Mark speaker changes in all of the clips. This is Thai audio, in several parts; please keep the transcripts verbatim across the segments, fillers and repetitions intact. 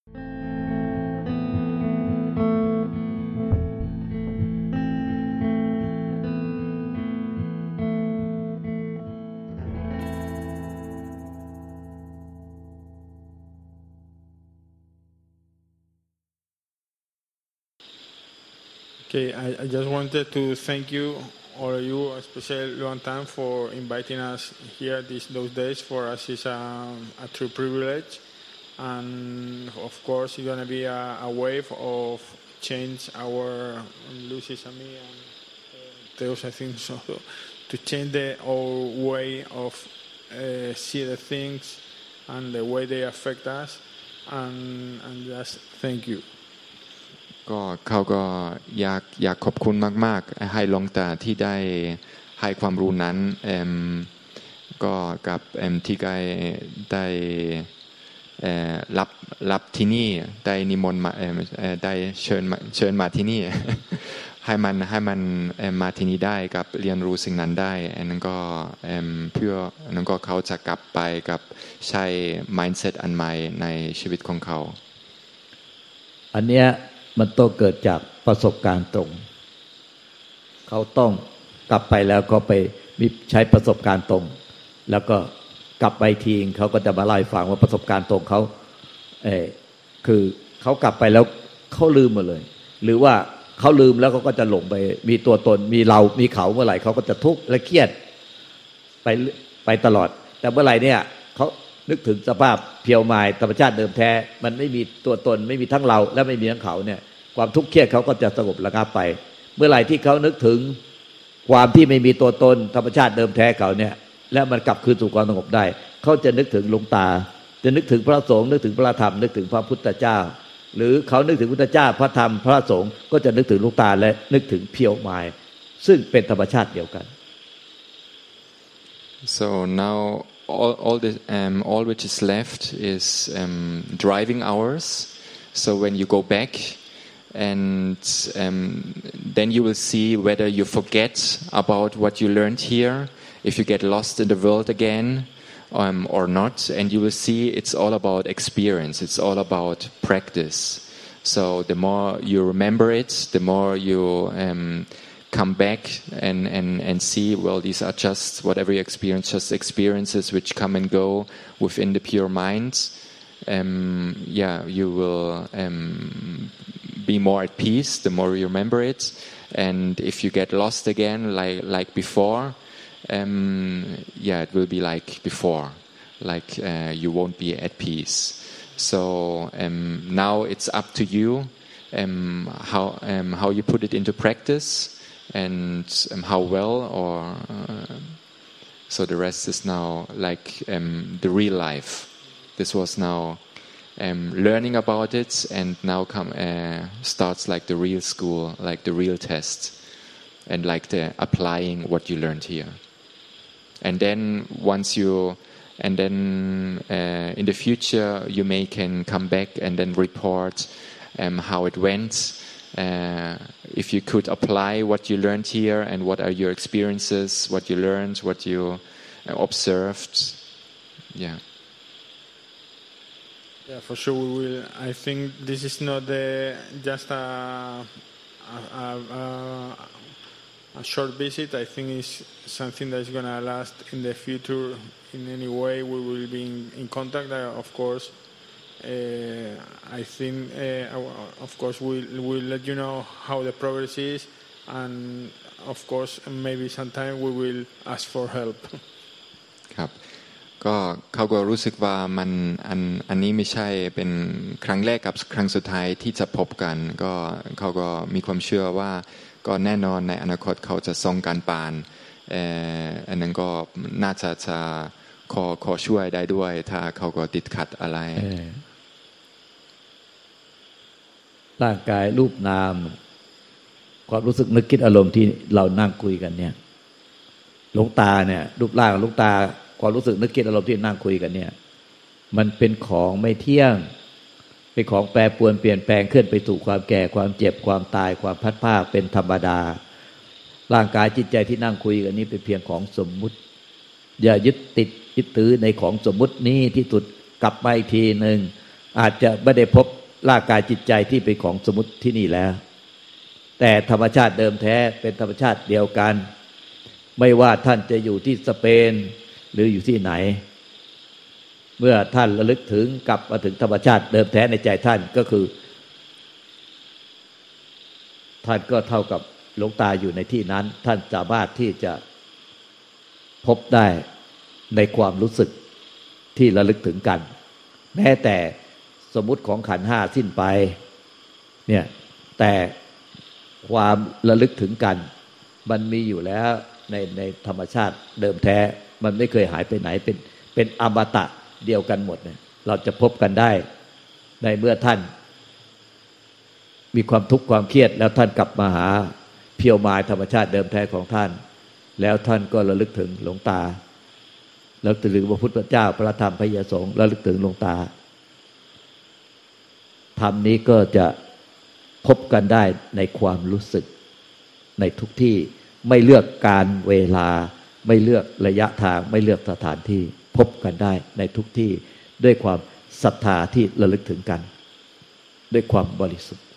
Speaker 1: Okay, I, I just wanted to thank you, all of you, especially Luan Tan, for inviting us here these those days. For us, it's a, a true privilege, and of course, it's gonna be a, a wave of change. Our Lucy's and me and uh, Teos, I think so, to change the old way of uh, see the things and the way they affect us, and and just thank you.
Speaker 2: ก็เขาก็อยากอยากขอบคุณมากๆให้หลวงตาที่ได้ให้ความรู้นั้นเอ่อก็กับเอ่อที่ได้ได้เอ่อรับรับที่นี่ได้นิมนต์มาเอ่อได้เชิญมาเชิญมาที่นี่ ให้มันให้มันเอ่อมาที่นี่ได้กับเรียนรู้สิ่งนั้นได้อันนั้นก็เอ่อเพื่ออันนั้นก็เขาจะกลับไปกับใช้ mindset อันใหม่ในชีวิตของเขา
Speaker 3: อันเนี้ยมันต้องเกิดจากประสบการณ์ตรงเขาต้องกลับไปแล้วก็ไปมีใช้ประสบการณ์ตรงแล้วก็กลับไปทีเขาก็จะมาเล่าให้ฟังว่าประสบการณ์ตรงเขาเออคือเขากลับไปแล้วเขาลืมหมดเลยหรือว่าเขาลืมแล้วเขาก็จะหลงไปมีตัวตนมีเรามีเขาเมื่อไหร่เขาก็จะทุกข์และเครียดไปไปตลอดแต่เมื่อไหร่เนี่ยเขานึกถึงสภาพเพียวมายธรรมชาติเดิมแท้มันไม่มีตัวตนไม่มีทั้งเราและไม่มีทั้งเขาเนี่ยความทุกข์เครียดเขาก็จะสงบระงับไปเมื่อไหร่ที่เขานึกถึงความที่ไม่มีตัวตนธรรมชาติเดิมแท้เขาเนี่ยและมันกลับคืนสู่ความสงบได้เขาจะนึกถึงหลวงตาจะนึกถึงพระสงฆ์นึกถึงพระธรรมนึกถึงพระพุทธเจ้าหรือเขานึกถึงพุทธเจ้าพระธรรมพระสงฆ์ก็จะนึกถึงหลวงตาและนึกถึงเพียวมายซึ่งเป็นธรรมชาติเดียวกัน
Speaker 2: so now all all the um all which is left is um driving hours so when you go back and um then you will see whether you forget about what you learned here if you get lost in the world again um or not and you will see it's all about experience it's all about practice so the more you remember it the more you um come back and, and, and see, well, these are just whatever you experience, just experiences which come and go within the pure mind. Um, yeah, you will um, be more at peace the more you remember it. And if you get lost again, like like before, um, yeah, it will be like before, like uh, you won't be at peace. So um, now it's up to you um, how um, how you put it into practice.And um, how well, or uh, so the rest is now like um, the real life. This was now um, learning about it, and now come uh, starts like the real school, like the real test, and like the applying what you learned here. And then once you, and then uh, in the future you may can come back and then report um, how it went.Uh, if you could apply what you learned here and what are your experiences, what you learned, what you uh, observed, yeah.
Speaker 1: Yeah, for sure we will. I think this is not the, just a, a, a, a short visit. I think it's something that is going to last in the future in any way. We will be in, in contact, uh, of course.Uh, I think, uh, of course, we'll, we'll let you know how the progress is, and of course, maybe sometime we will ask for help.
Speaker 2: ครับก็เขาก็รู้สึกว่ามันอันอันนี้ไม่ใช่เป็นครั้งแรกกับครั้งสุดท้ายที่จะพบกันก็เขาก็มีความเชื่อว่าก็แน่นอนในอนาคตเขาจะส่งการปานเอ่ออันนั้นก็น่าจะจะขอขอช่วยได้ด้วยถ้าเขาก็ติดขัดอะไร
Speaker 3: ร่างกายรูปนามความรู้สึกนึกคิดอารมณ์ที่เรานั่งคุยกันเนี่ยหลวงตาเนี่ยรูปร่างหลวงตาความรู้สึกนึกคิดอารมณ์ที่นั่งคุยกันเนี่ยมันเป็นของไม่เที่ยงเป็นของแปรปรวนเปลี่ยนแปลงเคลื่อนไปสู่ความแก่ความเจ็บความตายความพัดพรากเป็นธรรมดาร่างกายจิตใจที่นั่งคุยกันนี้เป็นเพียงของสมมุติอย่ายึดติดยึดถือในของสมมุตินี้ที่สุดกลับไปทีนึงอาจจะไม่ได้พบร่างกายจิตใจที่เป็นของสมมุติที่นี่แล้วแต่ธรรมชาติเดิมแท้เป็นธรรมชาติเดียวกันไม่ว่าท่านจะอยู่ที่สเปนหรืออยู่ที่ไหนเมื่อท่านระลึกถึงกลับมาถึงธรรมชาติเดิมแท้ในใจท่านก็คือท่านก็เท่ากับหลวงตาอยู่ในที่นั้นท่านสามารถที่จะพบได้ในความรู้สึกที่ระลึกถึงกันแม้แต่สมมุติของขันธ์ห้าสิ้นไปเนี่ยแต่ความระลึกถึงกันมันมีอยู่แล้วในในธรรมชาติเดิมแท้มันไม่เคยหายไปไหนเป็นเป็นอมตะเดียวกันหมดเนี่ยเราจะพบกันได้ในเมื่อท่านมีความทุกข์ความเครียดแล้วท่านกลับมาหาเพียวมายธรรมชาติเดิมแท้ของท่านแล้วท่านก็ระลึกถึงหลวงตาแล้วระลึกถึงพระพุทธเจ้าพระธรรมพระยสงฆ์ระลึกถึงหลวงตาธรรมนี้ก็จะพบกันได้ในความรู้สึกในทุกที่ไม่เลือกการเวลาไม่เลือกระยะทางไม่เลือกสถานที่พบกันได้ในทุกที่ด้วยความศรัทธาที่ระลึกถึงกันด้วยความบริสุทธิ์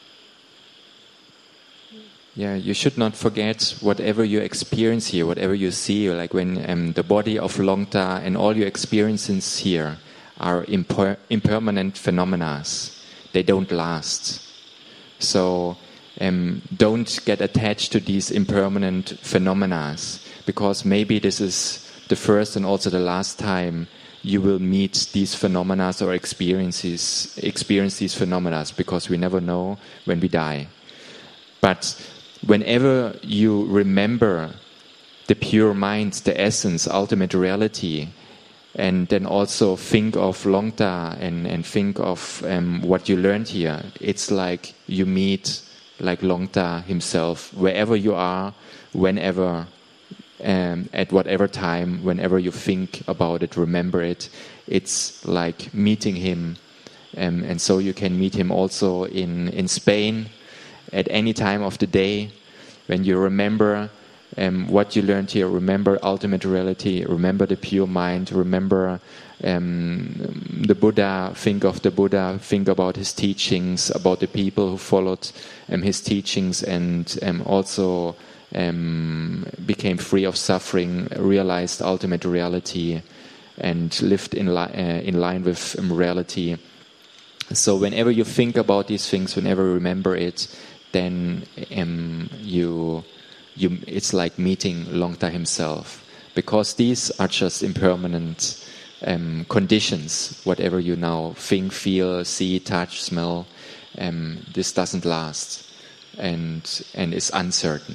Speaker 2: Yeah, you should not forget whatever you experience here, whatever you see, like when um, the body of Longta and all your experiences here are imper- impermanent phenomena. They don't last. So um, don't get attached to these impermanent phenomena, because maybe this is the first and also the last time you will meet these phenomena or experiences, experience these phenomena, because we never know when we die. But whenever you remember the pure mind, the essence, ultimate reality, and then also think of Longta and, and think of um, what you learned here, it's like you meet like Longta himself, wherever you are, whenever, um, at whatever time, whenever you think about it, remember it, it's like meeting him. Um, and so you can meet him also in, in Spain, at any time of the day, when you remember um, what you learned here, remember ultimate reality, remember the pure mind, remember um, the Buddha, think of the Buddha, think about his teachings, about the people who followed um, his teachings and um, also um, became free of suffering, realized ultimate reality and lived in, li- uh, in line with um, reality. So whenever you think about these things, whenever you remember it, then um, you, you, it's like meeting Longta himself, because these are just impermanent um, conditions. Whatever you now think, feel, see, touch, smell, um, this doesn't last, and and is uncertain.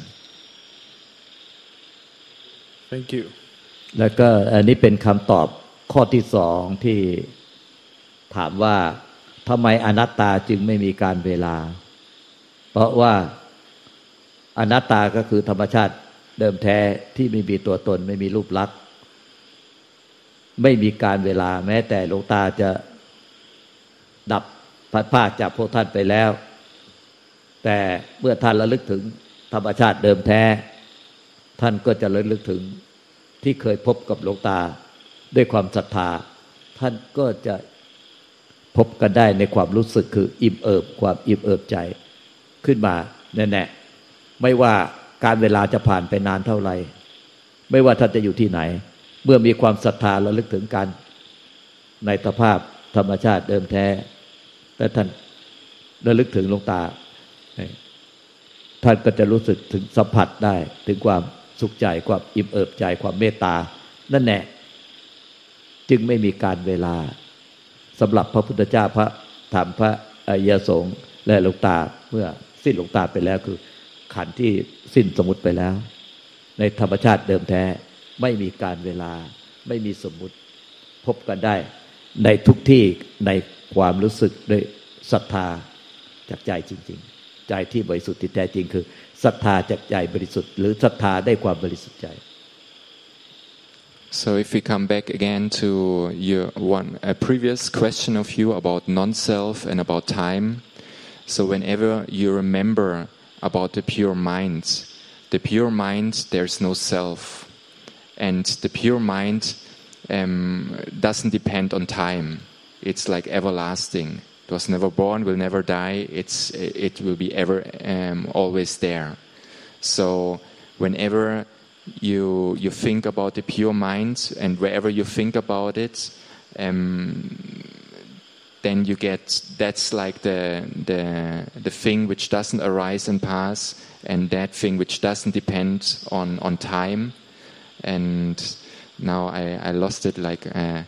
Speaker 1: Thank you.
Speaker 3: แล้วก็อันนี้เป็นคำตอบข้อที่สองที่ถามว่าทำไมอนัตตาจึงไม่มีการเวลาเพราะว่าอนัตตาก็คือธรรมชาติเดิมแท้ที่ไม่มีตัวตนไม่มีรูปลักษณ์ไม่มีการเวลาแม้แต่หลวงตาจะดับพัดพรากจากพวกท่านไปแล้วแต่เมื่อท่านระลึกถึงธรรมชาติเดิมแท้ท่านก็จะระลึกถึงที่เคยพบกับหลวงตาด้วยความศรัทธาท่านก็จะพบกันได้ในความรู้สึกคืออิ่มเอิบความอิ่มเอิบใจขึ้นมาแน่ๆไม่ว่าการเวลาจะผ่านไปนานเท่าไหร่ไม่ว่าท่านจะอยู่ที่ไหนเมื่อมีความศรัทธาระลึกถึงกันในสภาพธรรมชาติเดิมแท้แต่ท่านระลึกถึงหลวงตาท่านก็จะรู้สึกถึงสัมผัสได้ถึงความสุขใจความอิ่มเอิบใจความเมตตานั่นแหละจึงไม่มีการเวลาสำหรับพระพุทธเจ้าพระธรรมพระอริยสงฆ์และหลวงตาเมื่อสิ้นหลวงตาไปแล้วคือขันธ์ที่สิ้นสมมุติไปแล้วในธรรมชาติเดิมแท้ไม่มีการเวลาไม่มีสมมุติพบกันได้ในทุกที่ในความรู้สึกด้วยศรัทธาจากใจจริงๆใจที่บริสุทธิ์ที่แท้จริงคือศรัทธาจากใจบริสุทธิ์หรือศรัทธาได้ความบริสุทธิ์ใจ
Speaker 2: So if we come back again to your one a previous question of you about non-self and about time, so whenever you remember about the pure mind, the pure mind, there's no self, and the pure mind um, doesn't depend on time. it's like everlasting. It was never born, will never die. It's it will be ever um, always there. So whenever you you think about the pure mind, and wherever you think about it, um, then you get that's like the the the thing which doesn't arise and pass, and that thing which doesn't depend on on time. And now I I lost it like. Uh,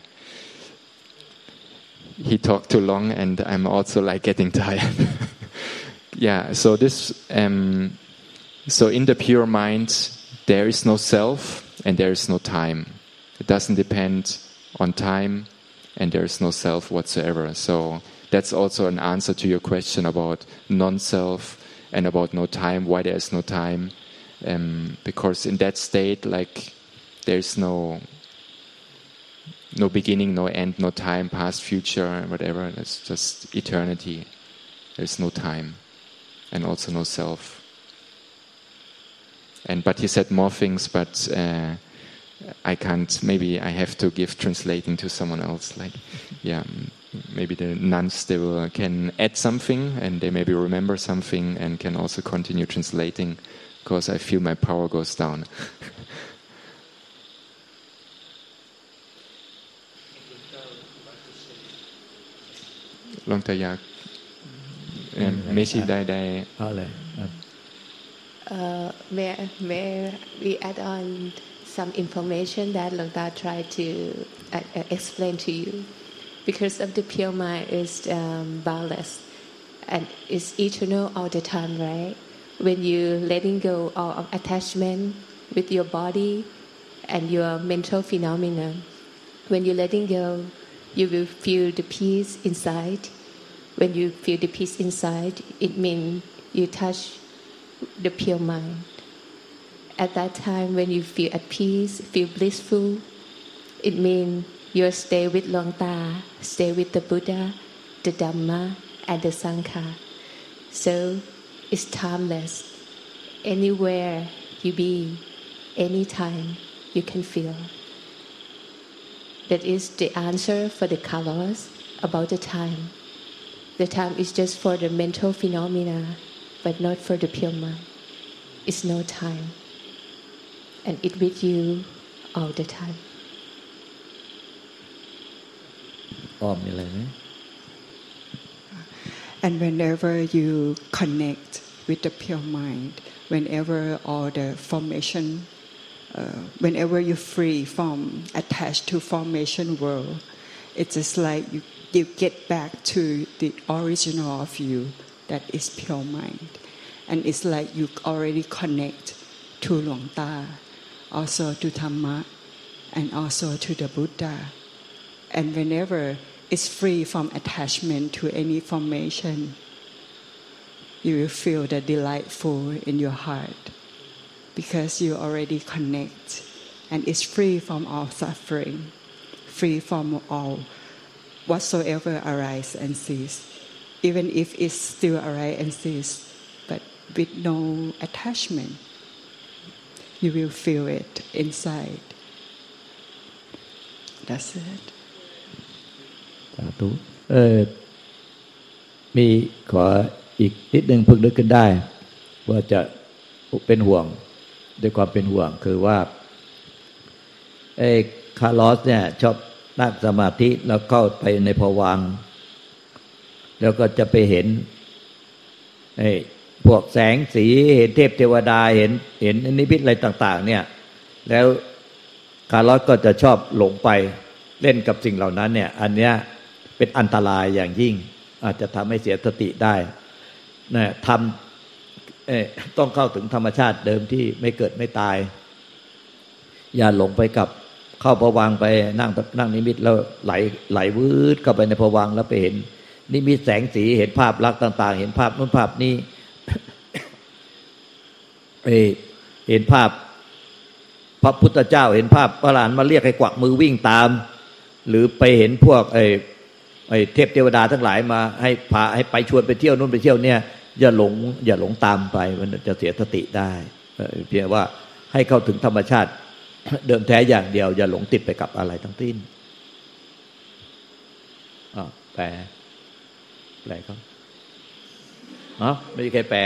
Speaker 2: He talked too long, and I'm also like getting tired. Yeah. So this, um, so in the pure mind, there is no self and there is no time. It doesn't depend on time, and there is no self whatsoever. So that's also an answer to your question about non-self and about no time. Why there is no time? Um, because in that state, like there is no. No beginning, no end, no time, past, future, whatever. It's just eternity. There's no time, and also no self. And but he said more things, but uh, I can't. Maybe I have to give translating to someone else. Like, yeah, maybe the nuns they will, can add something, and they maybe remember something, and can also continue translating, because I feel my power goes down. Long ตายากไม่ใช่ได้ได้เอาเลย
Speaker 4: may may we add on some information that Long Ta tried to uh, explain to you, because of the pure mind is um, boundless and is eternal all the time, right? When you letting go all of attachment with your body and your mental phenomena, when you letting go, you will feel the peace inside. When you feel the peace inside, it means you touch the pure mind. At that time, when you feel at peace, feel blissful, it means you stay with Long Ta, stay with the Buddha, the Dhamma, and the Sangha. So it's timeless. Anywhere you be, anytime you can feel. That is the answer for the Kalos about the time. The time is just for the mental phenomena, but not for the pure mind. It's no time. And it with you all the time.
Speaker 3: อ้อมมีอะไรไหม
Speaker 5: And whenever you connect with the pure mind, whenever all the formation, uh, whenever you're free from attached to formation world, it's just like you you get back to the original of you, that is pure mind. And it's like you already connect to Luang Ta, also to Dhamma, and also to the Buddha. And whenever it's free from attachment to any formation, you will feel the delightful in your heart, because you already connect, and it's free from all suffering, free from all whatsoever arise and cease, even if it still arise and cease, but with no attachment, you will feel it inside. That's it.
Speaker 3: สาธุเออมีขออีกนิดนึงเพิ่งนึกขึ้นได้ว่าจะเป็นห่วงด้วยความเป็นห่วงคือว่าไอ้คาร์ลอสเนี่ยชอบนั่งสมาธิแล้วเข้าไปในภวังค์แล้วก็จะไปเห็นไอ้พวกแสงสีเห็นเทพเทวดาเห็นเห็นนิมิตอะไรต่างๆเนี่ยแล้วคาร์ลอสก็จะชอบหลงไปเล่นกับสิ่งเหล่านั้นเนี่ยอันเนี้ยเป็นอันตรายอย่างยิ่งอาจจะทำให้เสียสติได้นะทำเอ่อต้องเข้าถึงธรรมชาติเดิมที่ไม่เกิดไม่ตายอย่าหลงไปกับเข้าภวังค์ไปนั่งนั่งนิมิตแล้วไหลไหลวืดเข้าไปในภวังค์แล้วไปเห็นนิมิตแสงสีเห็นภาพลักษณ์ต่างๆเห็นภาพนู้นภาพนี้ เอเห็นภาพพระพุทธเจ้าเห็นภาพพระอรหันต์มาเรียกให้กวักมือวิ่งตามหรือไปเห็นพวกไอ้ไอ้เทพเทวดาทั้งหลายมาให้พาให้ไปชวนไปเที่ยวนู่นไปเที่ยวเนี่ยอย่าหลงอย่าหลงตามไปมันจะเสียสติได้เพียงว่าให้เข้าถึงธรรมชาติเดิมแท้อย่างเดียวอย่าหลงติดไปกับอะไรทั้งสิ้นอ่าแปลแปลเขาเนาะไม่มีใครแปล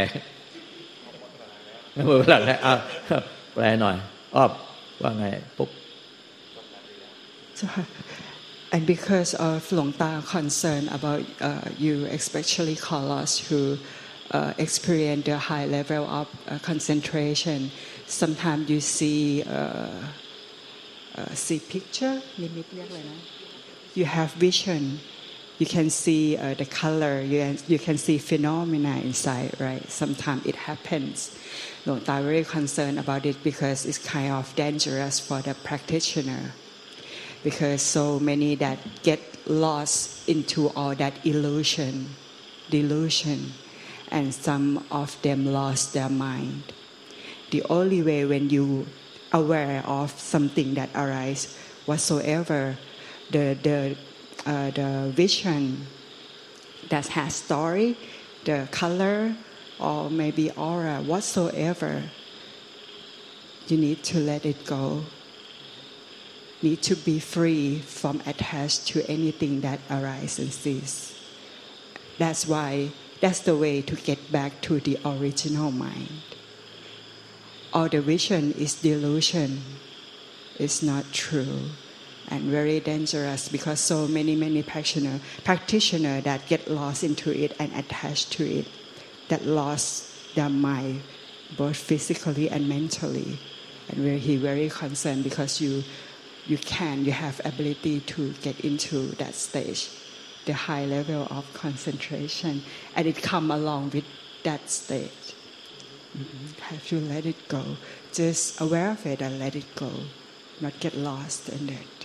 Speaker 3: ไม่หมดเวลาแล้วอ่ะแปลหน่อยอ้อว่าไงปุ๊บ
Speaker 5: So, and because of Long Ta concern about uh, you, especially Carlos, who uh, experience the high level of uh, concentration, sometimes you see uh, uh, see picture. You have vision. You can see uh, the color. You can, you can see phenomena inside. Right. Sometimes it happens. Long Ta very concerned about it because it's kind of dangerous for the practitioner. Because so many that get lost into all that illusion, delusion, and some of them lost their mind. The only way when you aware of something that arises whatsoever, the the uh, the vision that has story, the color, or maybe aura whatsoever, you need to let it go. Need to be free from attached to anything that arises and ceases. That's why, that's the way to get back to the original mind. All the vision is delusion. It's not true and very dangerous because so many, many practitioner, practitioner that get lost into it and attached to it, that lost their mind both physically and mentally. And where he very concerned because you You can, you have ability to get into that stage, the high level of concentration, and it come along with that stage. Mm-hmm. Have to let it go. Just aware of it and let it go, not get lost in it.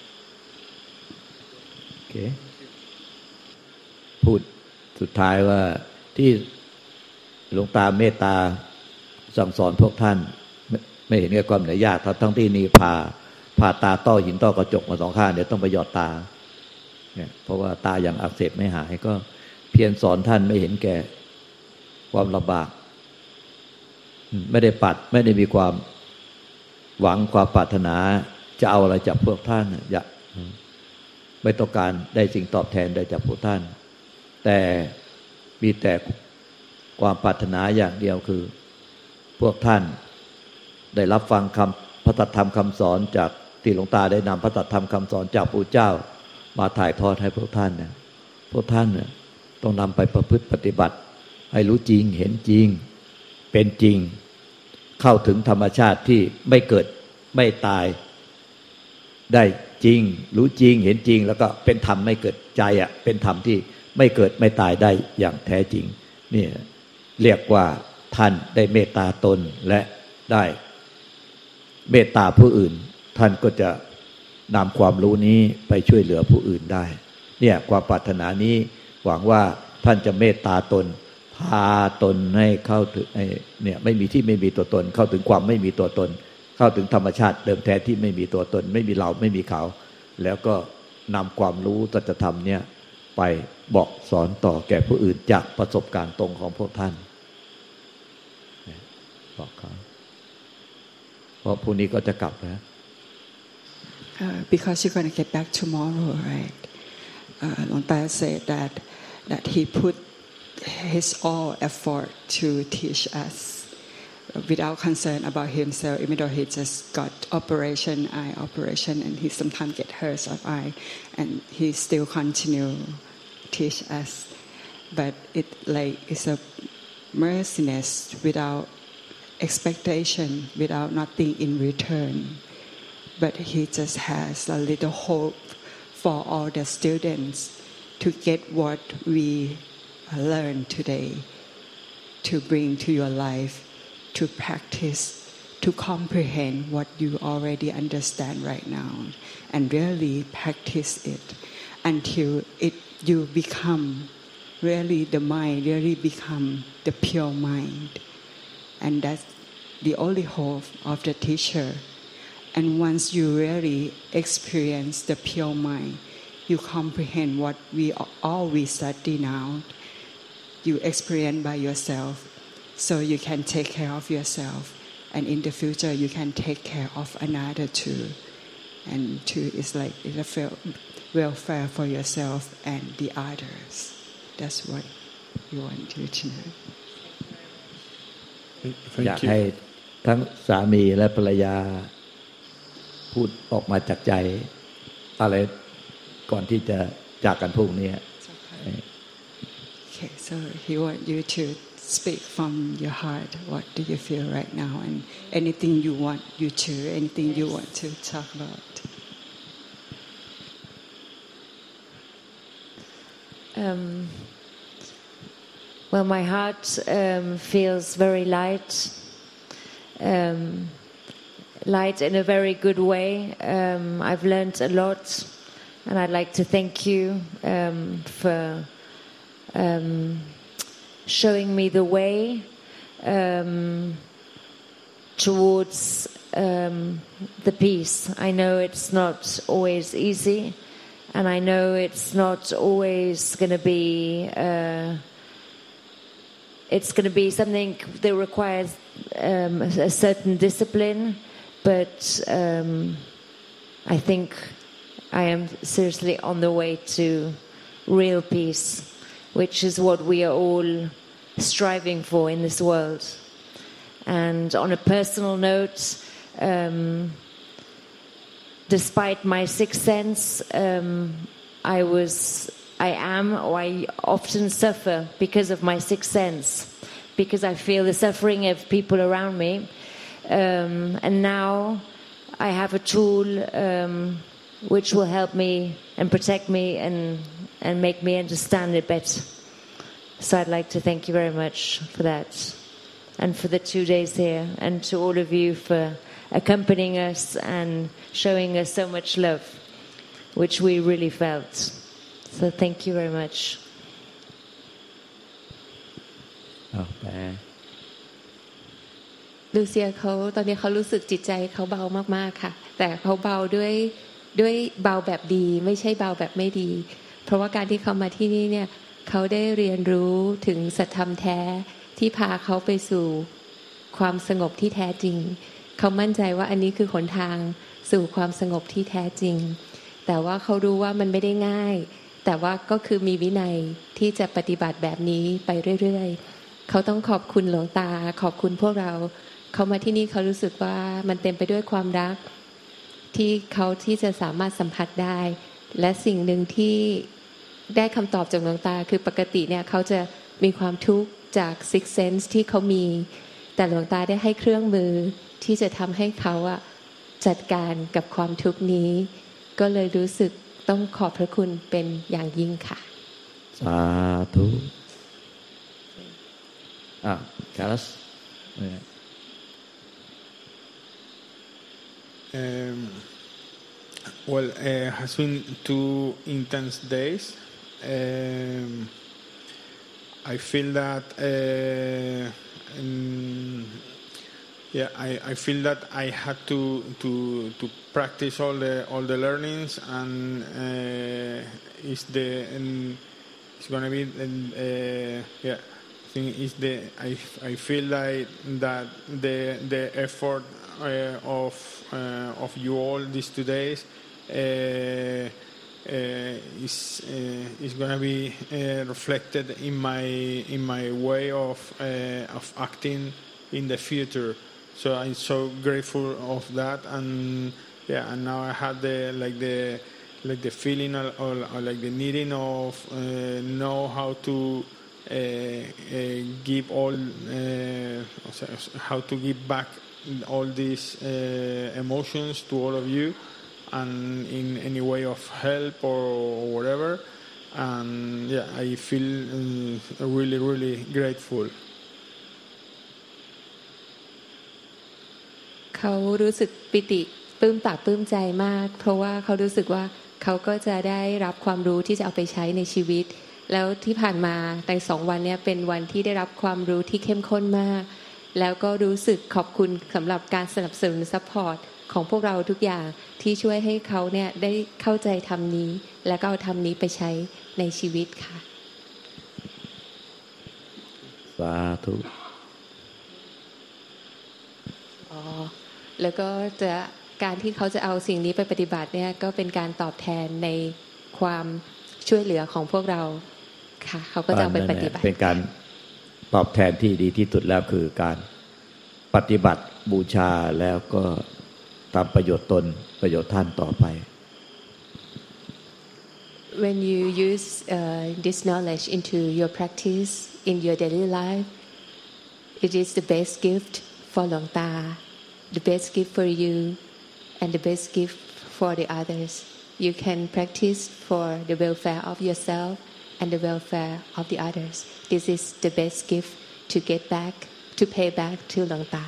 Speaker 3: Okay. พูดสุดท้ายว่าที่หลวงตาเมตตาสั่งสอนพวกท่านไม่เห็นแก่ความเหนื่อยยากทั้งที่นี่พาผ่าตาต้อหินต้อกระจกมาสองข้างเดี๋ยวต้องไปหยอดตาเนี่ยเพราะว่าตาอย่างอักเสบไม่หายก็เพียรสอนท่านไม่เห็นแก่ความลำบากไม่ได้ปัดไม่ได้มีความหวังความปรารถนาจะเอาอะไรจากพวกท่านอย่าไม่ต้องการได้สิ่งตอบแทนได้จากพวกท่านแต่มีแต่ความปรารถนาอย่างเดียวคือพวกท่านได้รับฟังคำพระธรรมคำสอนจากที่หลวงตาได้นำพระธรรมคำสอนจากพระเจ้ามาถ่ายทอดให้พวกท่านเนี่ยพวกท่านเนี่ยต้องนำไปประพฤติปฏิบัติให้รู้จริงเห็นจริงเป็นจริงเข้าถึงธรรมชาติที่ไม่เกิดไม่ตายได้จริงรู้จริงเห็นจริงแล้วก็เป็นธรรมไม่เกิดใจอ่ะเป็นธรรมที่ไม่เกิดไม่ตายได้อย่างแท้จริงนี่เรียกว่าท่านได้เมตตาตนและได้เมตตาผู้อื่นท่านก็จะนำความรู้นี้ไปช่วยเหลือผู้อื่นได้เนี่ยความปรารถนานี้หวังว่าท่านจะเมตตาตนพาตนให้เข้าถึงเนี่ยไม่มีที่ไม่มีตัวตนเข้าถึงความไม่มีตัวตนเข้าถึงธรรมชาติเดิมแท้ที่ไม่มีตัวตนไม่มีเราไม่มีเขาแล้วก็นำความรู้สัจธรรมเนี่ยไปบอกสอนต่อแก่ผู้อื่นจากประสบการณ์ตรงของพวกท่านบอกเขาเพราะพรุ่งนี้ก็จะกลับนะ
Speaker 5: because you're going to get back tomorrow, right? Uh, Long Ta said that that he put his all effort to teach us without concern about himself, even though he just got operation, eye operation, and he sometimes get hurt of eye, and he still continue teach us. But it like it's a merciness without expectation, without nothing in return. But he just has a little hope for all the students to get what we learn today, to bring to your life, to practice, to comprehend what you already understand right now, and really practice it until it you become really the mind, really become the pure mind. And that's the only hope of the teacher. And once you really experience the pure mind, you comprehend what we all we study now. You experience by yourself, so you can take care of yourself, and in the future you can take care of another too. And two is like it feel welfare for yourself and the others. That's what you want you to know.
Speaker 3: อยากให้ทั้งสามีและภรรยาพูดออกมาจากใจอะไรก่อนที่จะจากกันพรุ่งนี้
Speaker 5: Okay, so he want you to speak from your heart. What do you feel right now, and anything you want you to, anything you want to talk about.
Speaker 6: Um, well, my heart um, feels very light, um, light in a very good way. Um, I've learned a lot, and I'd like to thank you um, for um, showing me the way um, towards um, the peace. I know it's not always easy, and I know it's not always going to be uh, it's going to be something that requires um, a certain discipline, but um, I think I am seriously on the way to real peace, which is what we are all striving for in this world. And on a personal note, um, despite my sixth sense, um, I was, I am, or I often suffer because of my sixth sense, because I feel the suffering of people around me. Um, and now I have a tool um, which will help me and protect me and, and make me understand it better. So I'd like to thank you very much for that, and for the two days here, and to all of you for accompanying us and showing us so much love, which we really felt. So thank you very much.
Speaker 4: ลูเซียเขาตอนนี้เขารู้สึกจิตใจเขาเบามากๆค่ะแต่เขาเบาด้วยด้วยเบาแบบดีไม่ใช่เบาแบบไม่ดีเพราะว่าการที่เขามาที่นี่เนี่ยเขาได้เรียนรู้ถึงสัจธรรมแท้ที่พาเขาไปสู่ความสงบที่แท้จริงเขามั่นใจว่าอันนี้คือหนทางสู่ความสงบที่แท้จริงแต่ว่าเขารู้ว่ามันไม่ได้ง่ายแต่ว่าก็คือมีวินัยที่จะปฏิบัติแบบนี้ไปเรื่อยๆเขาต้องขอบคุณหลวงตาขอบคุณพวกเราเขามาที่นี่เขารู้สึกว่ามันเต็มไปด้วยความรักที่เขาที่จะสามารถสัมผัสได้และสิ่งหนึ่งที่ได้คำตอบจากหลวงตาคือปกติเนี่ยเขาจะมีความทุกข์จาก six sense ที่เขามีแต่หลวงตาได้ให้เครื่องมือที่จะทำให้เขาอะจัดการกับความทุกข์นี้ก็เลยรู้สึกต้องขอบพระคุณเป็นอย่างยิ่งค่ะ
Speaker 3: สาธุอ่ะคารัส
Speaker 1: Um, well, it uh, has been two intense days. Um, I feel that, uh, um, yeah, I, I feel that I had to to to practice all the all the learnings, and uh, it's the um, it's gonna be uh, yeah. I think it's the I I feel like that the the effort uh, of uh, of you all these two days uh, uh, is uh, is going to be uh, reflected in my in my way of uh, of acting in the future. So I'm so grateful of that, and yeah, and now I have the like the like the feeling or, or, or like the needing of uh, know how to. Uh, uh, give all uh, how to give back all these uh, emotions to all of you, and in any way of help or whatever, and yeah, I feel uh, really really grateful.
Speaker 4: เขารู้สึกปิติปลื้มปากปลื้มใจมากเพราะว่าเขารู้สึกว่าเขาก็จะได้รับความรู้ที่จะเอาไปใช้ในชีวิตแล้วที่ผ่านมาในสองวันนี้เป็นวันที่ได้รับความรู้ที่เข้มข้นมากแล้วก็รู้สึกขอบคุณสำหรับการสนับสนุนซัพพอร์ตของพวกเราทุกอย่างที่ช่วยให้เขาเนี่ยได้เข้าใจธรรมนี้และก็เอาธรรมนี้ไปใช้ในชีวิตค่ะ
Speaker 3: สาธุ
Speaker 4: อ๋อแล้วก็จะการที่เขาจะเอาสิ่งนี้ไปปฏิบัติเนี่ยก็เป็นการตอบแทนในความช่วยเหลือของพวกเราค่ะเขาก็จะเอาไปปฏิบัติ
Speaker 3: เป็นการตอบแทนที่ดีที่สุดแล้วคือการปฏิบัติบูชาแล้วก็ทำประโยชน์ตนประโยชน์ท่านต่อไป
Speaker 4: When you use uh, this knowledge into your practice in your daily life, it is the best gift for Luang Ta, the best gift for you, and the best gift for the others. You can practice for the welfare of yourself and the welfare of the others. This is the best gift to get back, to pay back to Luang Ta.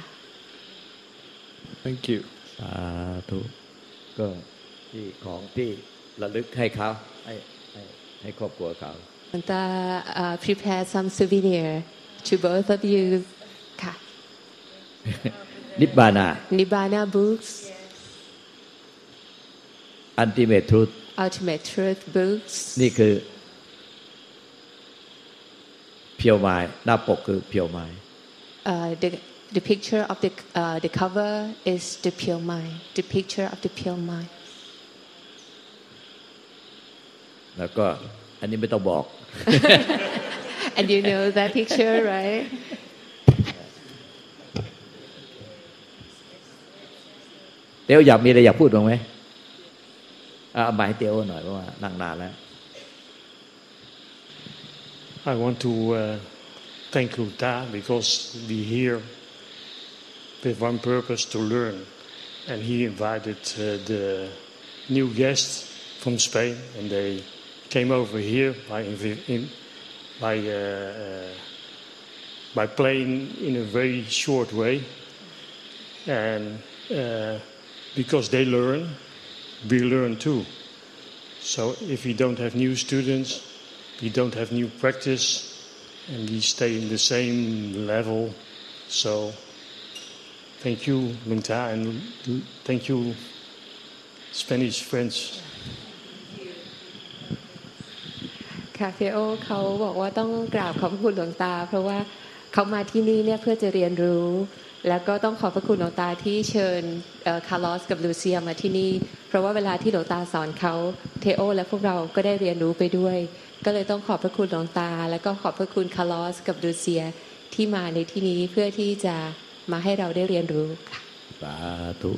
Speaker 1: Thank you.
Speaker 3: สาธุก็ที่ของที่ระลึกให้เขาให้ให้ให้ครอบครัวเขา
Speaker 4: Luang Ta uh, prepare some souvenir to both of you. ค่ะ
Speaker 3: นิบานา
Speaker 4: Nibbana books,
Speaker 3: Ultimate Truth
Speaker 4: Ultimate Truth books.
Speaker 3: นี่คือเพียวไม้หน้าปกคือเพียวไม้
Speaker 4: Uh, the the picture of the uh, the cover is the pure mind. The picture of the pure mind.
Speaker 3: แล้วก็อันนี้ไม่ต้องบอก
Speaker 4: And you know that picture, right?
Speaker 3: เตียวอยากมีอะไรอยากพูดบ้างไหมอ่าหมายเตียวหน่อยเพราะว่านั่งนานแล้ว
Speaker 7: I want to uh, thank Luang Ta because we here with one purpose to learn, and he invited uh, the new guests from Spain, and they came over here by in, by uh, uh, by playing in a very short way, and uh, because they learn, we learn too. So if we don't have new students, we don't have new practice, and we stay in the same level. So thank you, Luang Ta, and thank you, Spanish friends.
Speaker 4: ค่ะเฟโอเขาบอกว่าต้องกราบขอบพระคุณหลวงตาเพราะว่าเขามาที่นี่เนี่ยเพื่อจะเรียนรู้แล้วก็ต้องขอบพระคุณหลวงตาที่เชิญคาร์ลอสกับลูเซียมาที่นี่เพราะว่าเวลาที่หลวงตาสอนเขาเทโอและพวกเราก็ได้เรียนรู้ไปด้วยก็เลยต้องขอบพระคุณหลวงตาแล้วก็ขอบพระคุณคาร์ลอสกับลูเซียที่มาในที่นี้เพื่อที่จะมาให้เราได้เรียนรู้ค่ะ
Speaker 3: สาธุ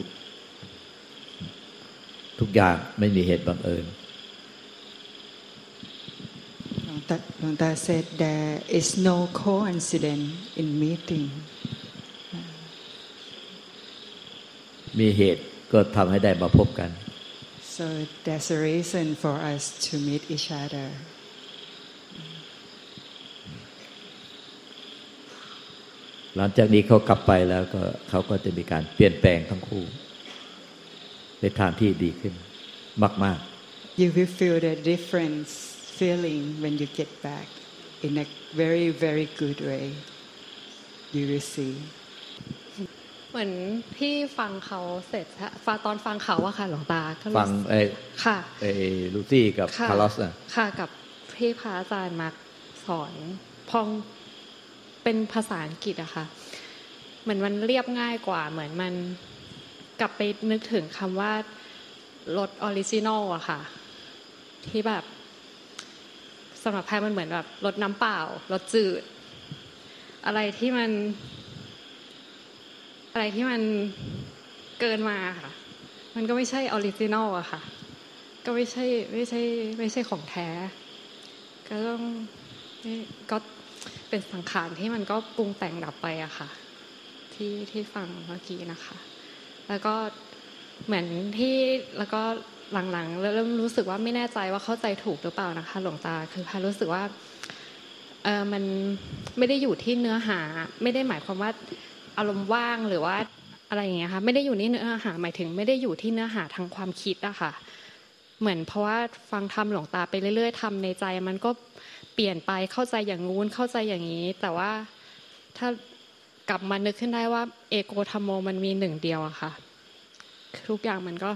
Speaker 3: ทุกอย่างไม่มีเหตุบังเอิญ
Speaker 5: Luang Ta said there is no coincidence in meeting.
Speaker 3: มีเหตุก็ทำให้ได้มาพบกัน
Speaker 5: So there's a reason for us to meet each other.
Speaker 3: หลังจากนี้เขากลับไปแล้วก็เขาก็จะมีการเปลี่ยนแปลงทั้งคู่ในทางที่ดีขึ้นมากๆ
Speaker 5: You will feel the difference feeling when you get back in a very very good way. You will see.
Speaker 8: เหมือนพี่ฟังเขาเสร็จฟังตอนฟังเขาอะค่ะหลวงตา
Speaker 3: ฟังไอ้
Speaker 8: ค่ะ
Speaker 3: ไอ้ลูซี่กับคาร์ลอสอะ
Speaker 8: ค่ะกับพี่พระอาจารย์มาสอนพองเป็นภาษาอังกฤษอะค่ะเหมือนมันเรียบง่ายกว่าเหมือนมันกลับไปนึกถึงคำว่ารสออริจินอลอะค่ะที่แบบสำหรับแพรมันเหมือนแบบรสน้ำเปล่ารสจืดอะไรที่มันอะไรที่มันเกินมาค่ะมันก็ไม่ใช่ออริจินอลอะค่ะก็ไม่ใช่ไม่ใช่ไม่ใช่ของแท้ก็ต้องก็เป็นสังขารที่มันก็ปรุงแต่งดับไปอะค่ะที่ที่ฟังเมื่อกี้นะคะแล้วก็เหมือนที่แล้วก็หลังๆเริ่มรู้สึกว่าไม่แน่ใจว่าเข้าใจถูกหรือเปล่านะคะหลวงตาคือพารู้สึกว่าเออมันไม่ได้อยู่ที่เนื้อหาไม่ได้หมายความว่าอารมณ์ว่างหรือว่าอะไรอย่างเงี้ยค่ะไม่ได้อยู่ที่เนื้อหาหมายถึงไม่ได้อยู่ที่เนื้อหาทางความคิดอะค่ะเหมือนเพราะว่าฟังธรรมหลวงตาไปเรื่อยๆทำในใจมันก็เปลี่ยนไปเข้าใจอย่างงู้นเข้าใจอย่างนี้แต่ว่าถ้ากลับมานึกขึ้นได้ว่าเอโกธัมโมมันมีหนึ่งเดียวอะค่ะทุกอย่างมันก็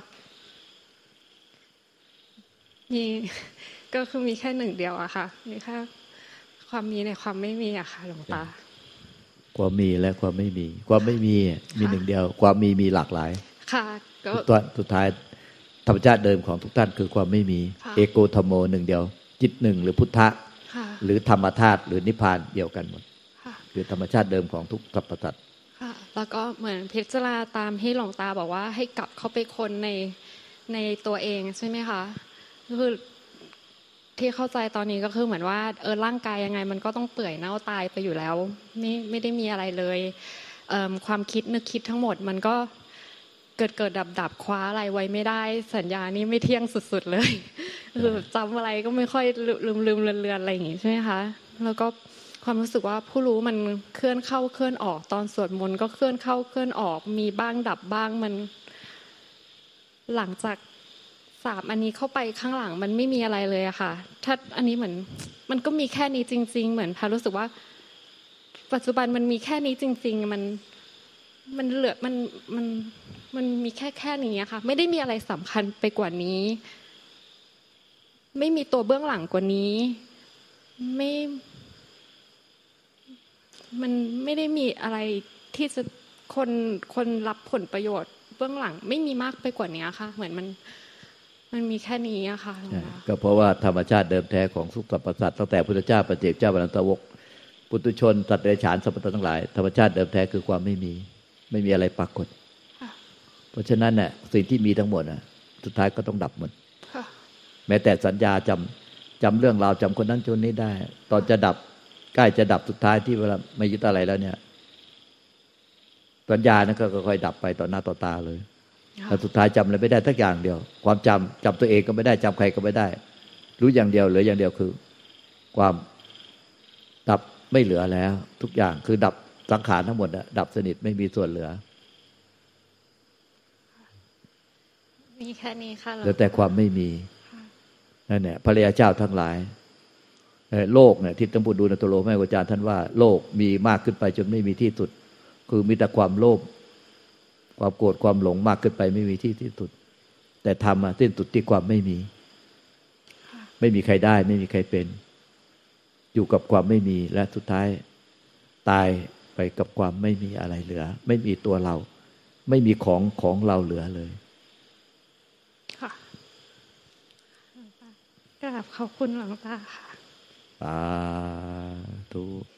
Speaker 8: มีก็คือมีแค่หนึ่งเดียวอะค่ะมีแค่ความมีในความไม่มีอะค่ะหลวงตา
Speaker 3: ความมีและความไม่มีความไม่มีมีหนึ่งเดียวความมีมีหลากหลาย
Speaker 8: ค่ะก็
Speaker 3: ตัวสุดท้ายธรรมชาติเดิมของทุกท่านคือความไม่มีเอโกธรรมโมหนึ่งเดียวจิตหนึ่งหรือพุทธะหรือธรรมธาตุหรือนิพพานเดียวกันหมดคือธรรมชาติเดิมของทุกสรรพสัตว์
Speaker 8: ค่ะแล้วก็เหมือนพิจารณาตามที่หลวงตาบอกว่าให้กลับเข้าไปคนในในตัวเองใช่ไหมคะคือที่เข้าใจตอนนี้ก็คือเหมือนว่าเออร่างกายยังไงมันก็ต้องเปื่อยเน่าตายไปอยู่แล้วไม่ไม่ได้มีอะไรเลยเอ่อความคิดนึกคิดทั้งหมดมันก็เกิดเกิดดับดับคว้าอะไรไว้ไม่ได้สัญญานี่ไม่เที่ยงสุดๆเลยคือจำอะไรก็ไม่ค่อยลืมลืมเลือนเลือนอะไรอย่างงี้ใช่ไหมคะแล้วก็ความรู้สึกว่าผู้รู้มันเคลื่อนเข้าเคลื่อนออกตอนสวดมนต์ก็เคลื่อนเข้าเคลื่อนออกมีบ้างดับบ้างมันหลังจากสามอันนี้เข้าไปข้างหลังมันไม่มีอะไรเลยอะค่ะถ้าอันนี้เหมือนมันก็มีแค่นี้จริงๆเหมือนพารู้สึกว่าปัจจุบันมันมีแค่นี้จริงๆมันมันเหลือมันมันมันมีแค่แค่นี้อะค่ะไม่ได้มีอะไรสำคัญไปกว่านี้ไม่มีตัวเบื้องหลังกว่านี้ไม่มันไม่ได้มีอะไรที่จะคนคนรับผลประโยชน์เบื้องหลังไม่มีมากไปกว่านี้ค่ะเหมือนมันมันมีแค่นี้อะค่ะ
Speaker 3: ก็เพราะว่าธรรมชาติเดิมแท้ของทุกสรรพสัตว์ตั้งแต่พุทธเจ้าปัจเจกเจ้าอรหันตวกปุถุชนสัตว์เดรัจฉานสรรพสัตว์ทั้งหลายธรรมชาติเดิมแท้คือความไม่มีไม่มีอะไรปรากฏเพราะฉะนั้นน่ะสิ่งที่มีทั้งหมดน่ะสุดท้ายก็ต้องดับหมดแม้แต่สัญญาจำจำเรื่องราวจำคนนั้นคนนี้ได้ตอนจะดับใกล้จะดับสุดท้ายที่เวลาไม่ยึดอะไรแล้วเนี่ยสัญญานั้นก็ค่อยๆดับไปต่อหน้าต่อตาเลยแต่สุดท้ายจำอะไรไม่ได้สักอย่างเดียวความจำจำตัวเองก็ไม่ได้จำใครก็ไม่ได้รู้อย่างเดียวเหลืออย่างเดียวคือความดับไม่เหลือแล้วทุกอย่างคือดับสังขารทั้งหมดอะดับสนิทไม่มีส่วนเหลือ
Speaker 8: มีแค่นี้ค่ะ
Speaker 3: เหลือแต่ความไม่มีนั่นแหละพระริยเจ้าทั้งหลายโลกเนี่ยที่ท่านพูดดูในตัวโลแม่อาจารย์ท่านว่าโลกมีมากขึ้นไปจนไม่มีที่สุดคือมีแต่ความโลภความโกรธความหลงมากขึ้นไปไม่มีที่ที่สุดแต่ธรรมสิ้นสุดที่ความไม่มีไม่มีใครได้ไม่มีใครเป็นอยู่กับความไม่มีและสุดท้ายตายไปกับความไม่มีอะไรเหลือไม่มีตัวเราไม่มีของของเราเหลือเลย
Speaker 8: ค่ะกราบขอบคุณหลวงตาค่ะ
Speaker 3: สาธุ